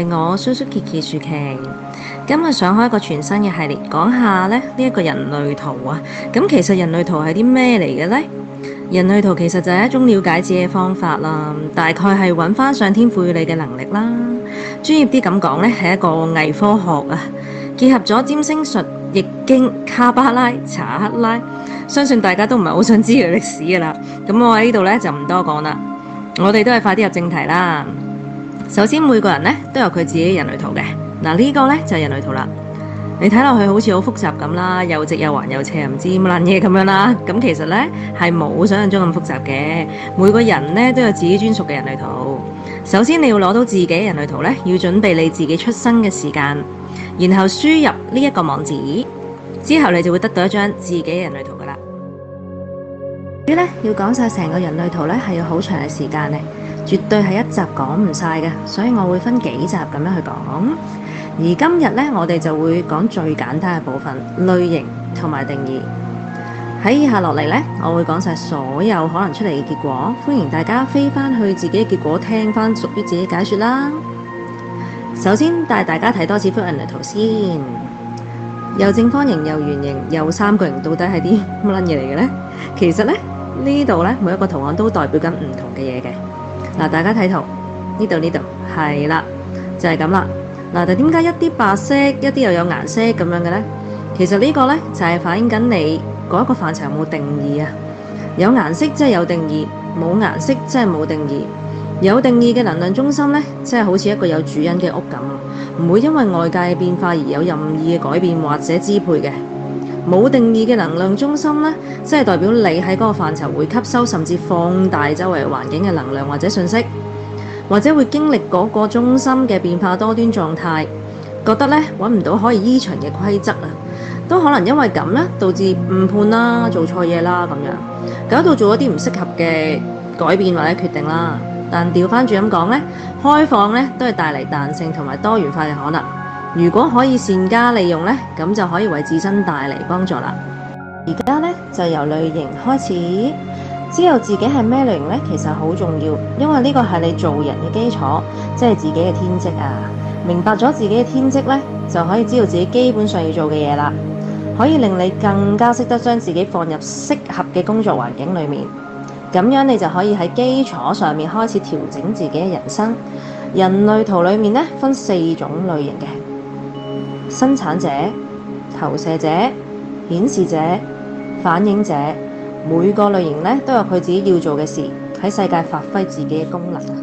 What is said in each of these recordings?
係我蘇蘇琪琪薯琪，今日想開一個全新嘅系列，講下呢一個人類圖啊。咁其實人類圖係啲咩嚟嘅呢？人類圖其實就係一種了解自己嘅方法啦，大概係揾翻上天賦予你嘅能力啦。專業啲咁講呢，係一個偽科學啊，結合咗占星術、易經、卡巴拉、查克拉，相信大家都唔係好想知佢歷史噶啦。咁我喺呢度呢，就唔多講啦，我哋都係快啲入正題啦。首先每個人呢都有佢自己人類圖嘅，嗱呢個呢就係人類圖啦。你睇落去好似好複雜咁啦，又直又橫又斜，唔知乜撚嘢咁樣啦。咁其實呢係冇想象中咁複雜嘅，每個人呢都有自己專屬嘅人類圖。首先你要攞到自己人類圖呢，要準備你自己出生嘅時間，然後輸入呢一個網址，之後你就會得到一張自己人類圖噶啦。至於呢要講晒成個人類圖呢，係要好長嘅時間呢，絕對係一集講唔晒嘅，所以我會分幾集咁樣去講。而今日呢，我哋就會講最簡單嘅部分，類型同埋定義。喺以下落嚟呢，我會講晒所有可能出嚟嘅結果，歡迎大家飛翻去自己嘅結果聽翻屬於自己解說啦。首先帶大家睇多次幅人類圖先，又正方形又圓形又三角形，到底係啲乜撚嘢嚟嘅呢？其實呢，呢度呢，每一個圖案都代表緊唔同嘅嘢嘅。嗱，大家睇圖呢度係啦，就係咁啦。嗱，但點解一啲白色，一啲又有顏色咁樣嘅呢？其實呢個呢，就係反映緊你嗰一個範疇有冇定義啊。有顏色即係有定義，冇顏色即係冇定義。有定義嘅能量中心呢，即係好似一個有主人嘅屋咁，唔會因為外界嘅變化而有任意嘅改變或者支配嘅。冇定義嘅能量中心呢，即係代表你喺嗰個範疇會吸收甚至放大周圍環境嘅能量或者信息，或者會經歷嗰個中心嘅變化多端狀態，覺得呢揾唔到可以依循嘅規則啊，都可能因為咁呢導致誤判啦、做錯嘢啦咁樣，搞到做一啲唔適合嘅改變或者決定啦。但調翻轉咁講呢，開放呢都係帶嚟彈性同埋多元化嘅可能。如果可以善加利用呢，咁就可以為自身帶嚟幫助啦。而家呢，就由類型開始。知道自己係咩類型呢，其實好重要，因為呢個係你做人嘅基礎，即係自己嘅天職啊。明白咗自己嘅天職呢，就可以知道自己基本上要做嘅嘢啦，可以令你更加識得將自己放入適合嘅工作環境裏面。咁樣你就可以喺基礎上面開始調整自己嘅人生。人類圖裏面呢，分4種類型嘅：生產者、投射者、顯示者、反映者。每個類型呢都有佢自己要做嘅事，喺世界發揮自己嘅功能啊。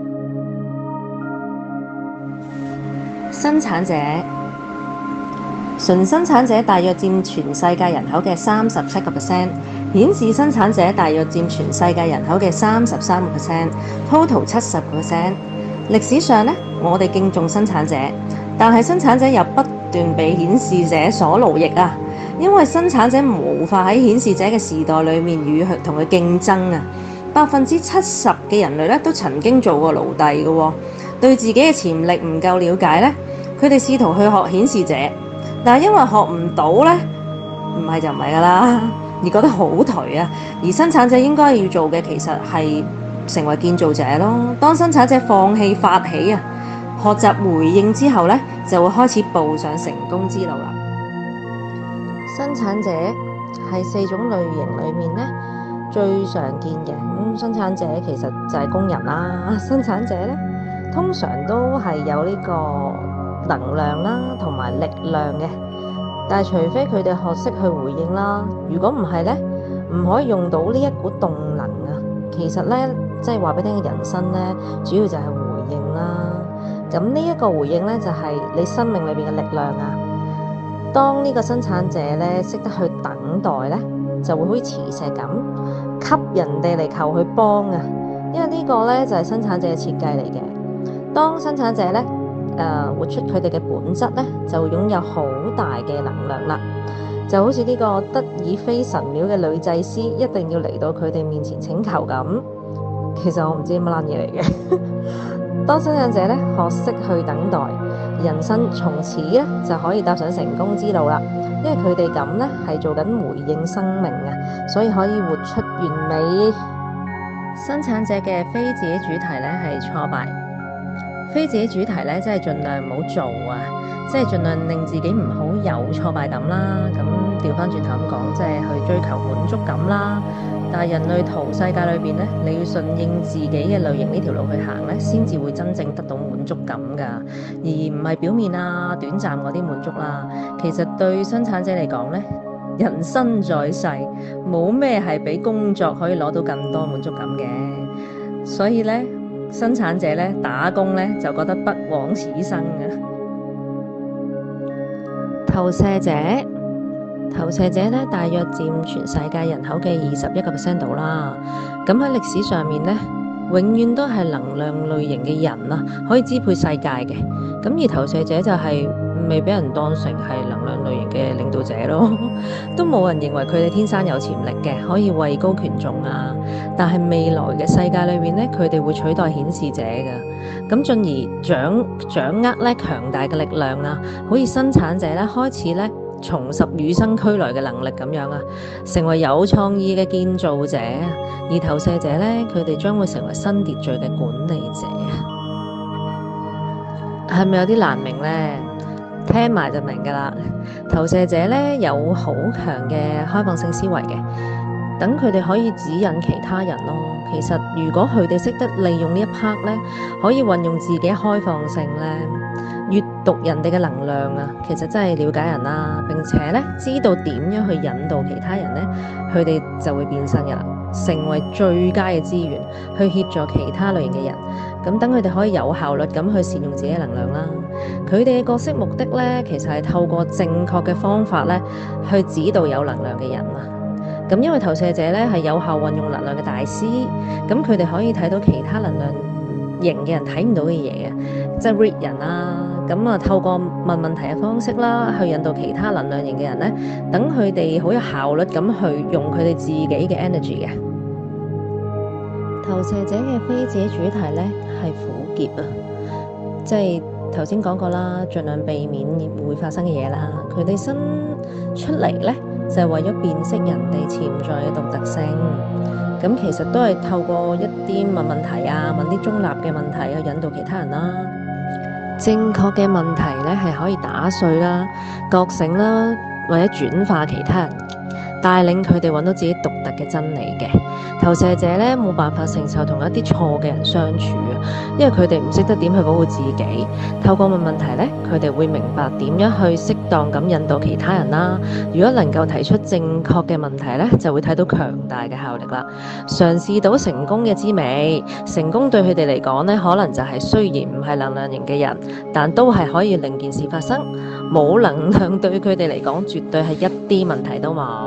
生產者，純生產者大約佔全世界人口嘅37%，顯示生產者大約佔全世界人口嘅33%，total 70%。歷史上呢，我哋敬重生產者，但係生產者又不斷被顯示者所奴役啊。因為生產者無法喺顯示者嘅時代裏面與佢同佢競爭啊，70%嘅人類咧都曾經做過奴隸嘅喎，對自己嘅潛力唔夠了解咧，佢哋試圖去學顯示者，但係因為學唔到咧，唔係就唔係噶啦，而覺得好頹啊。而生產者應該要做嘅其實係成為建造者咯。當生產者放棄發起啊，學習回應之後咧，就會開始步上成功之路啦。生產者係4種類型裏面呢最常見嘅。生產者其實就係工人啦。生產者呢通常都係有呢個能量啦同埋力量嘅，但係除非佢哋學識去回應啦，如果唔係呢，唔可以用到呢一股動能啊。其實呢，即係話俾你聽，人生呢主要就係回應啦。咁呢一個回應呢，就係你生命裏邊嘅力量啊。當呢個生產者咧識得去等待咧，就會好似磁石咁吸人哋嚟求佢幫啊！因為呢個咧就係生產者嘅設計嚟嘅。當生產者咧活出佢哋嘅本質咧，就會擁有好大嘅能量啦。就好似呢個德爾菲神廟嘅女祭司一定要嚟到佢哋面前請求咁。其實我唔知乜撚嘢嚟嘅。當生產者咧學識去等待，人生從此咧就可以踏上成功之路啦。因為佢哋咁咧係做緊回應生命啊，所以可以活出完美。生產者嘅非自己主題咧係挫敗， 非自己主題咧，即係盡量唔好做啊，即係盡量令自己唔好有挫敗感啦。咁調翻轉頭咁講，即係去追求滿足感啦。但係人類圖世界裏邊咧，你要順應自己嘅類型呢條路去行咧，先至會真正得到滿足感噶，而唔係表面啊、短暫嗰啲滿足啦。其實對生產者嚟講咧，人生在世，冇咩係比工作可以攞到更多滿足感嘅。所以咧，生產者咧打工咧就覺得不枉此生啊。投射者。投射者咧，大約佔全世界人口嘅21%度啦。咁喺歷史上面咧，永遠都係能量類型嘅人啊，可以支配世界嘅。咁而投射者就係未俾人當成係能量類型嘅領導者咯，都冇人認為佢哋天生有潛力嘅，可以位高權重啊。但係未來嘅世界裏面咧，佢哋會取代顯示者噶，咁進而掌握咧強大嘅力量啊，好似生產者咧開始咧重拾與生俱來嘅能力咁樣啊，成為有創意嘅建造者啊。而投射者咧，佢哋將會成為新秩序嘅管理者啊。係咪有啲難明呢？聽埋就明噶啦。投射者咧有好強嘅開放性思維嘅，等佢哋可以指引其他人咯。其實如果佢哋識得利用呢一 part 咧，可以運用自己開放性咧，閱讀人哋嘅能量啊，其實真係了解人啦，並且咧知道點樣去引導其他人咧，佢哋就會變身噶啦，成為最佳嘅資源去協助其他類型嘅人。咁等佢哋可以有效率咁去善用自己嘅能量啦。佢哋嘅角色目的咧，其實係透過正確嘅方法咧，去指導有能量嘅人啊。咁因為投射者咧係有效運用能量嘅大師，咁佢哋可以睇到其他能量型嘅人睇唔到嘅嘢啊，即係 read 人啦。咁啊，透過問問題嘅方式啦，去引導其他能量型嘅人咧，等佢哋好有效率咁去用佢哋自己嘅 energy 嘅。投射者嘅非自己主題咧係苦澀啊，即係頭先講過啦，盡量避免會發生嘅嘢啦。佢哋生出嚟咧就係為咗辨識人哋潛在嘅獨特性。咁其實都係透過一啲問問題啊，問啲中立嘅問題去引導其他人啦。正確嘅問題咧係可以打碎啦、覺醒啦，或者轉化其他人，帶領佢哋揾到自己獨特嘅真理嘅。投射者咧冇辦法承受同一啲錯嘅人相處啊，因為佢哋唔識得點去保護自己。透過問問題咧，佢哋會明白點樣去適當咁引導其他人啦。如果能夠提出正確嘅問題咧，就會睇到強大嘅效力啦。嘗試到成功嘅滋味，成功對佢哋嚟講咧，可能就係雖然唔係能量型嘅人，但都係可以令件事發生。冇能量對佢哋嚟講，絕對係一啲問題都冇。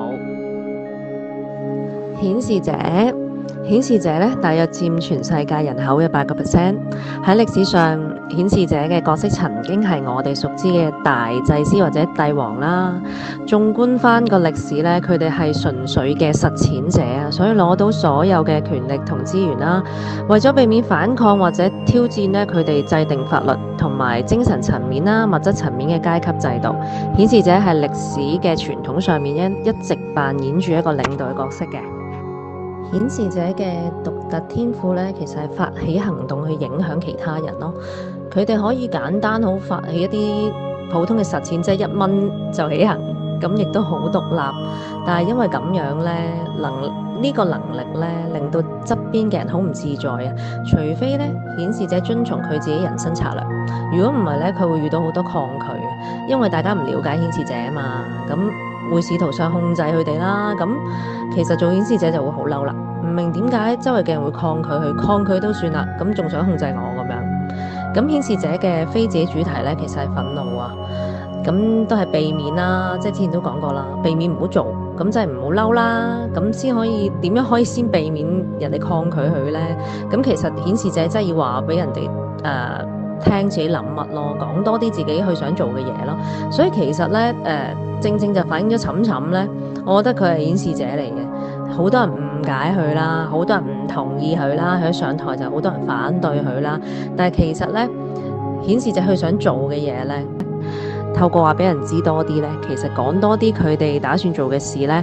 顯示者咧，大約佔全世界人口嘅8%。喺歷史上，顯示者嘅角色曾經係我哋熟知嘅大祭司或者帝王啦。縱觀翻個歷史咧，佢哋係純粹嘅實踐者啊，所以攞到所有嘅權力同資源啦。為咗避免反抗或者挑戰咧，佢哋制定法律同埋精神層面啦、物質層面嘅階級制度。顯示者係歷史嘅傳統上面一直扮演住一個領導嘅角色嘅。顯示者嘅獨特天賦咧，其實係發起行動去影響其他人咯。佢哋可以簡單好發起一啲普通嘅實踐，即係1蚊就起行，咁亦都好獨立。但係因為咁樣咧，呢個能力咧，令到側邊嘅人好唔自在啊。除非咧，顯示者遵從佢自己人生策略，如果唔係咧，佢會遇到好多抗拒，因為大家唔了解顯示者啊嘛。咁會試圖上控制佢哋啦，咁其實做顯示者就會好嬲啦，唔明點解周圍嘅人會抗拒佢，抗拒都算啦，咁仲想控制我咁樣。咁顯示者嘅非自己主題咧，其實係憤怒啊，咁都係避免啦，即係之前都講過啦，避免唔好做，咁即係唔好嬲啦，咁先可以點樣可以先避免人哋抗拒佢咧？咁其實顯示者真係要話俾人哋聽自己諗乜咯，講多啲自己去想做嘅嘢咯。所以其實咧正正就反映咗沉沉咧，我覺得佢係顯示者嚟嘅。好多人誤解佢啦，好多人唔同意佢啦，佢一上台就好多人反對佢啦。但係其實咧，顯示者佢想做嘅嘢咧，透過話俾人知多啲咧，其實講多啲佢哋打算做嘅事咧，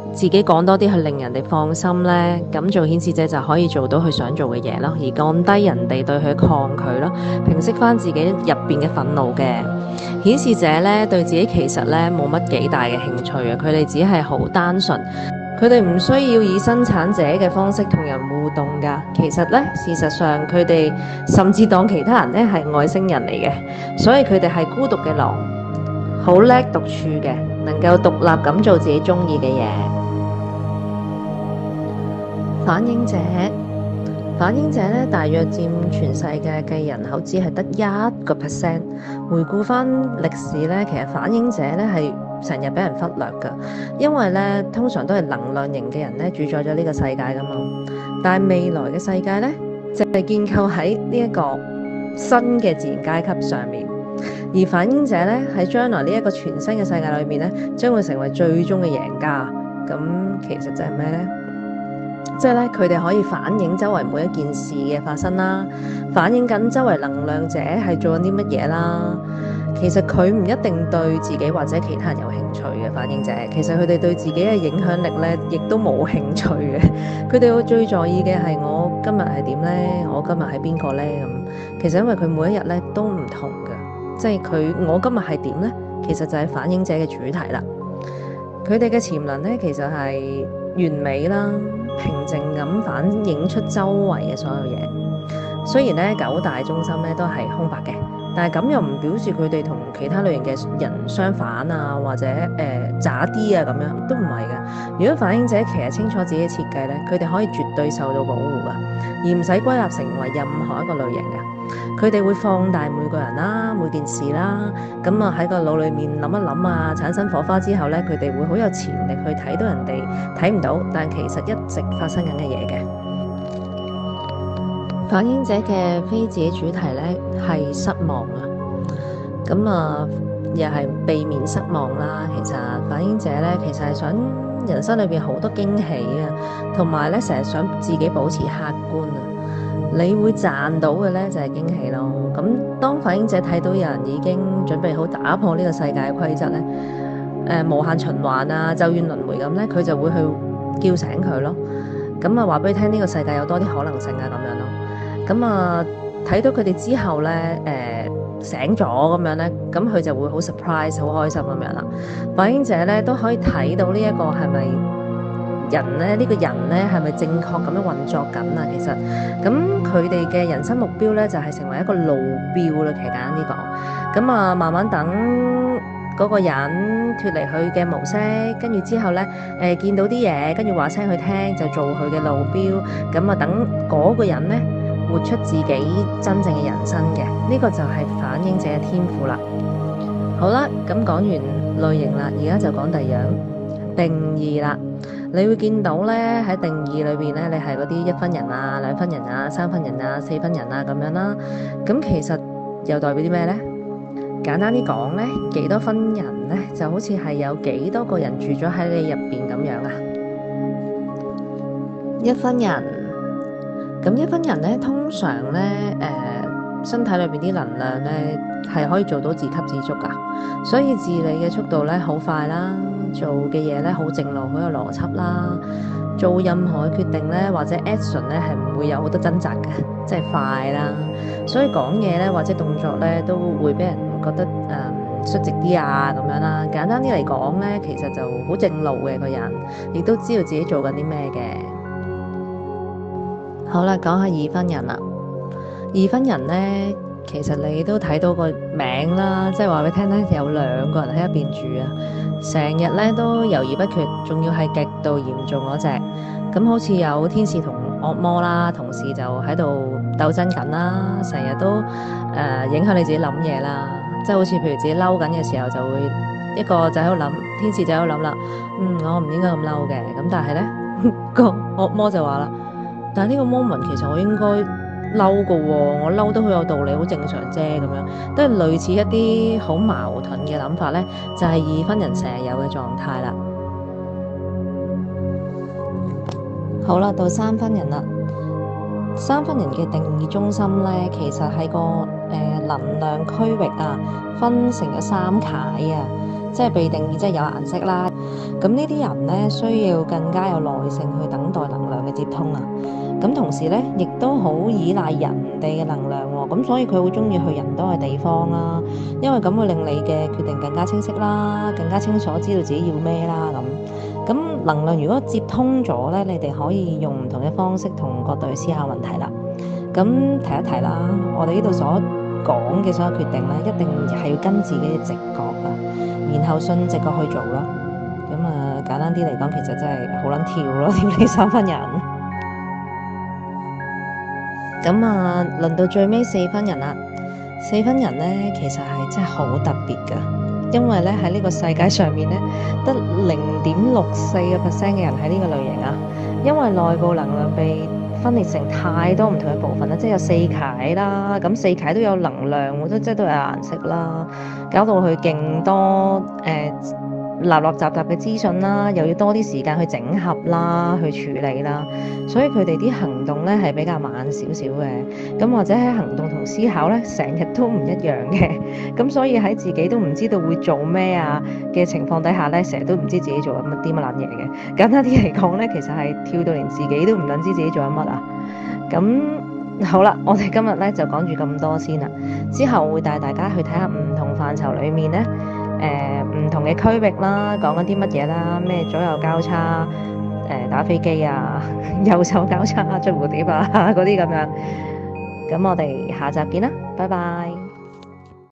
自己講多啲去令人哋放心呢，咁做顯示者就可以做到佢想做嘅嘢咯，而降低人哋對佢抗拒咯，平息翻自己入邊嘅憤怒嘅。顯示者呢，對自己其實呢冇乜幾大嘅興趣啊，佢哋只係好單純。佢哋唔需要以生產者嘅方式同人互動㗎。其實呢，事實上佢哋甚至當其他人呢係外星人嚟嘅，所以佢哋係孤獨嘅狼，好叻獨處嘅，能夠獨立咁做自己中意嘅嘢。反映者，反映者呢，大約佔全世界嘅人口只係得1%。回顧翻歷史呢，其實反映者呢係成日俾人忽略㗎，因為咧通常都係能量型嘅人咧主宰咗呢個世界噶嘛。但係未來嘅世界咧就係建構喺呢一個新嘅自然階級上面，而反映者咧喺將來呢一個全新嘅世界裏面咧將會成為最終嘅贏家。咁其實就係咩咧？即係咧佢哋可以反映周圍每一件事嘅發生啦，反映緊周圍能量者係做緊啲乜嘢啦。其實佢唔一定對自己或者其他人有興趣嘅反映者，其實佢哋對自己嘅影響力咧，亦都冇興趣嘅。佢哋最在意嘅係我今日係點咧，我今日係邊個咧咁。其實因為佢每一日咧都唔同嘅，即係我今日係點咧，其實就係反映者嘅主題啦。佢哋嘅潛能咧，其實係完美啦，平靜咁反映出周圍嘅所有嘢。雖然咧9大中心咧都係空白嘅。但係咁又唔表示佢哋同其他類型嘅人相反啊，或者渣啲啊咁樣，都唔係嘅。如果反映者其實清楚自己嘅設計咧，佢哋可以絕對受到保護㗎，而唔使歸納成為任何一個類型嘅。佢哋會放大每個人啦、每件事啦，咁啊喺個腦裡面諗一諗啊，產生火花之後咧，佢哋會好有潛力去睇到人哋睇唔到，但其實一直發生緊嘅嘢嘅。反映者嘅非自己主題咧係失望啊，咁啊又係避免失望啦。其實反映者咧其實係想人生裏邊好多驚喜啊，同埋咧成日想自己保持客觀啊。你會賺到嘅咧就係驚喜咯。咁當反映者睇到有人已經準備好打破呢個世界嘅規則咧，無限循環啊、咒怨輪迴咁咧，佢就會去叫醒佢咯。咁啊話俾佢聽呢個世界有多啲可能性啊咁樣咯。咁啊，睇到佢哋之後咧，醒咗咁樣咧，咁佢就會好 surprise、好開心咁樣啦。反映者咧都可以睇到呢一個係咪人咧？呢個人咧係咪正確咁樣運作緊啊？其實，咁佢哋嘅人生目標咧就係成為一個路標啦。其實簡單啲講，咁啊慢慢等嗰個人脫離佢嘅模式，跟住之後咧，見到啲嘢，跟住話聲佢聽，就做佢嘅路標。咁啊等嗰個人咧，活出自己真正嘅人生嘅，呢個就係反映者嘅天賦啦。好啦，咁講完類型啦，而家就講第二樣定義啦。你會見到咧喺定義裏邊咧，你係嗰啲1分人啊、2分人啊、3分人啊、4分人啊咁樣啦。咁其實又代表啲咩咧？簡單啲講咧，幾多分人咧，就好似係有幾多個人住咗喺你入邊咁樣啊。1分人。咁1分人咧，通常咧，身體裏邊啲能量咧係可以做到自給自足噶，所以自理嘅速度咧好快啦，做嘅嘢咧好正路，好有邏輯啦，做任何嘅決定咧或者 action 咧係唔會有好多掙扎嘅，即係快啦，所以講嘢咧或者動作咧都會俾人覺得率直啲啊咁樣啦。簡單啲嚟講咧，其實就好正路嘅個人，亦都知道自己做緊啲咩嘅。好啦，講下2分人啦。2分人呢，其實你都睇到個名啦，即係話俾你聽咧，有2個人喺一邊住啊，成日咧都猶豫不決，仲要係極度嚴重嗰隻。咁好似有天使同惡魔啦，同時就喺度鬥爭緊啦，成日都影響你自己諗嘢啦，即係好似譬如自己嬲緊嘅時候，就會一個就喺度諗，天使就喺度諗啦，我唔應該咁嬲嘅。咁但係咧個惡魔就話啦，但係呢個 moment 其實我應該嬲㗎喎，我嬲得好有道理，好正常啫咁樣，都係類似一啲好矛盾嘅諗法咧，就係2分人成日有嘅狀態啦。好啦，到3分人啦。3分人嘅定義中心咧，其實係個能量區域啊，分成咗3楷啊，即係被定義即係有顏色啦。 咁呢啲人呢，需要更加有耐性去等待能量嘅接通啊。咁同時呢，亦都好依賴人哋嘅能量喎。咁所以佢會鍾意去人多嘅地方啦，因為咁會令你嘅決定更加清晰啦，更加清楚知道自己要咩啦咁。咁能量如果接通咗呢，你哋可以用唔同嘅方式同角度去思考問題啦。咁提一提啦，我哋呢度所講嘅所有決定呢，一定係要跟自己嘅直覺啊，然後順直覺去做咯。咁啊，簡單啲嚟講，其實真係好撚跳咯，跳呢三分人。咁啊，輪到最尾四分人啦。四分人呢，其實係真係好特別㗎，因為呢喺呢個世界上面呢，得0.64%嘅人喺呢個類型啊。因為內部能量被分裂成太多唔同嘅部分啦，即係有四楷啦，咁四楷都有能量，即係都有顏色啦，搞到佢勁多立雜嘅資訊啦，又要多啲時間去整合啦，去處理啦，所以佢哋啲行動咧係比較慢少少嘅，咁或者喺行動同思考咧成日都唔一樣嘅，咁所以喺自己都唔知道會做咩啊嘅情況底下咧，成日都唔知自己做緊啲乜撚嘢嘅。簡單啲嚟講咧，其實係跳到連自己都唔撚知自己做緊乜啊。咁好啦，我哋今日咧就講住咁多先啦，之後會帶大家去睇下唔同範疇裡面咧。唔同嘅區域啦，講緊啲乜嘢啦？咩左右交叉，打飛機啊，右手交叉追蝴蝶啊，嗰啲咁樣。咁我哋下集見啦，拜拜。